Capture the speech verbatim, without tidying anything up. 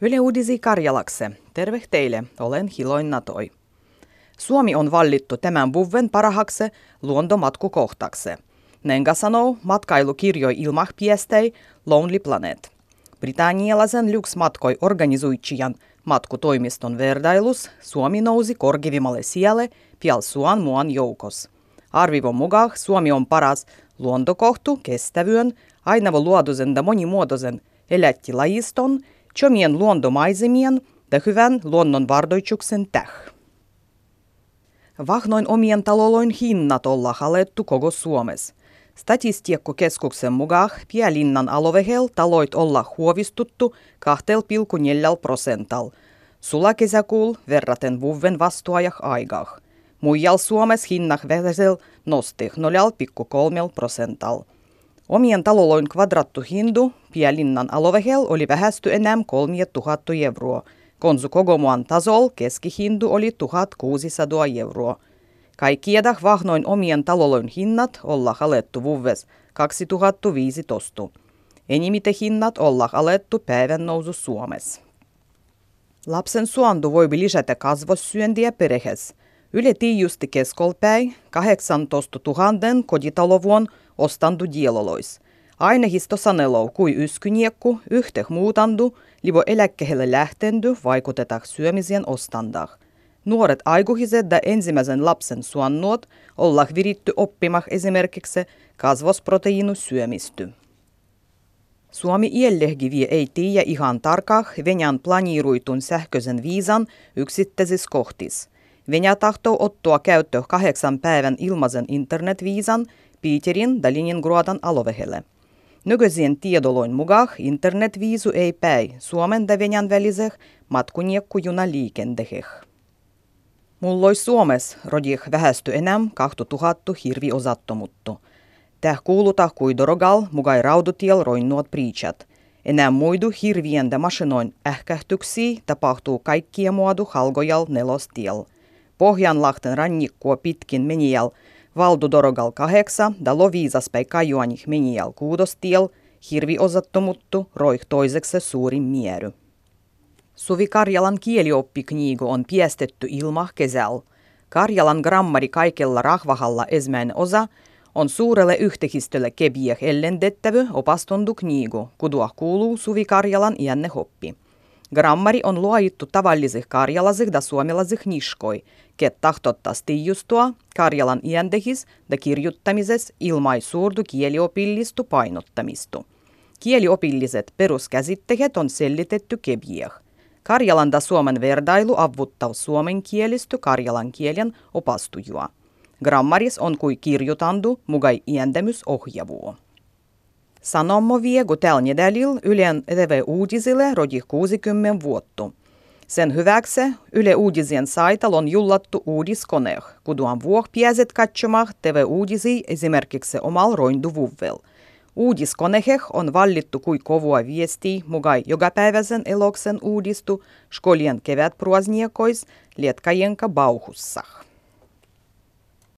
Yle Uudisi Karjalakse. Terve teille, olen Hiloin Natoi. Suomi on valittu tämän vuoden parhaaksi luontomatkukohtaksi. Nenga sanoo matkailukirjoi ilmahpiestei Lonely Planet. Britannialaisen Lux-matkoi organisoitsijan matkutoimiston vertailus Suomi nousi korkevimmalle sijalle pialsuan muan joukos. Arvivon mukaan Suomi on paras luontokohtu kestävyyden, ainavoluotoisen ja monimuotoisen elättilajiston, chomien luontomaisemien ja hyvän luonnonvardoituksen täh. Vahnoin omien talojen hinnat olla alettu koko Suomessa. Statistiikkakeskuksen mukaan Pielinnan alovehel taloit olla huovistuttu kaksi pilkku neljä prosentalla. Sula kesäkuul verraten vuoden vastuajah aikaa. Muijal Suomessa hinnah vähäisel nosti nolla pilkku kolme prosentalla. Omien talojen kvadrattuhindu Pielinnan alovehel oli vähästy enää kolme tuhatta euroa. Konsu kogomuan tasol keskihindu oli tuhatkuusisataa euroa. Kaikkiedah vahnoin omien talojen hinnat olla alettu vuodes kaksituhattaviisitoista. Enimmiten hinnat olla alettu päivän nousu Suomessa. Lapsen suontu voi lisätä kasvossyöntiä perheessä. Yle tiijusti keskolpäin kahdeksantoista tuhatta kotitalovuon ostandu dielolois. Ainehisto sanelou kui yskyniekku yhteh muutandu, livo eläkkeelle lähtendy vaikutetaan syömisien ostandah. Nuoret aikuiset ja ensimmäisen lapsen suonnuot ollaan viritty oppimah esimerkiksi kasvosproteiinu syömisty. Suomi iellehkiviä ei tiedä ihan tarkkaan Venäjän planiiruitun sähköisen viisan yksittäisissä kohtis. Venäjä tahtoo ottaa käyttöön kahdeksan päivän ilmaisen internetviisan Piiterin ja Leningradin alovehelle. Nykyisien tiedoloin mukaan internetviisu ei päi Suomen ja Venäjän väliseh matkuniekku-junaliikenteeh. Mullois Suomessa rodih vähästy enää kaksituhatta hirviosattomuttu. Täh kuuluta kui dorogal mugai raudutiel roinnuot priichat. Enää muidu hirvien ja masinoin ähkähtyksiä tapahtuu kaikkia muodu halgojal nelostiel. Pohjanlahten rannikkua pitkin menijäl valdu dorogal kahdeksa ja Loviisaspäin kajuanih menijäl kuudostiel hirviosattomuttu roih toiseksi suurin miery. Suvi Karjalan kielioppikniigu on piestetty ilmah kesäl. Karjalan grammari kaikella rahvahalla ensimmäinen osa on suurelle yhteistölle kebieh ellendettävy opastondu kniigu, kudua kuuluu Suvi Karjalan iänne hoppi. Grammari on luojittu tavallisih karjalasih ja suomalaisih niskoi, ket tahtottas tiijustua Karjalan iändehis ja kirjuttamises ilmaisuurdu kieliopillistu painottamistu. Kieliopilliset peruskäsitteet on sellitetty kebieh. Karjalan ja Suomen verdailu avuttaa suomen kielisty karjalan kielen opastujua. Grammaris on kui kirjutandu mugai iändämys ohjavuo. Sanommo viegu täl nedälil Ylen T V-uudisille rodih kuusikymmentä vuotta. Sen hyväksi Yle Uudisien saital on jullattu uudiskoneeh, kuduan vuoh piäset katsomah T V-uudisia esimerkiksi omal roinduvuvel. Uudiskoneheh on vallittu kui kovua viestiä mugai jokapäiväisen eloksen uudistu skolien kevätpruasniekois lietkajenka bauhussah.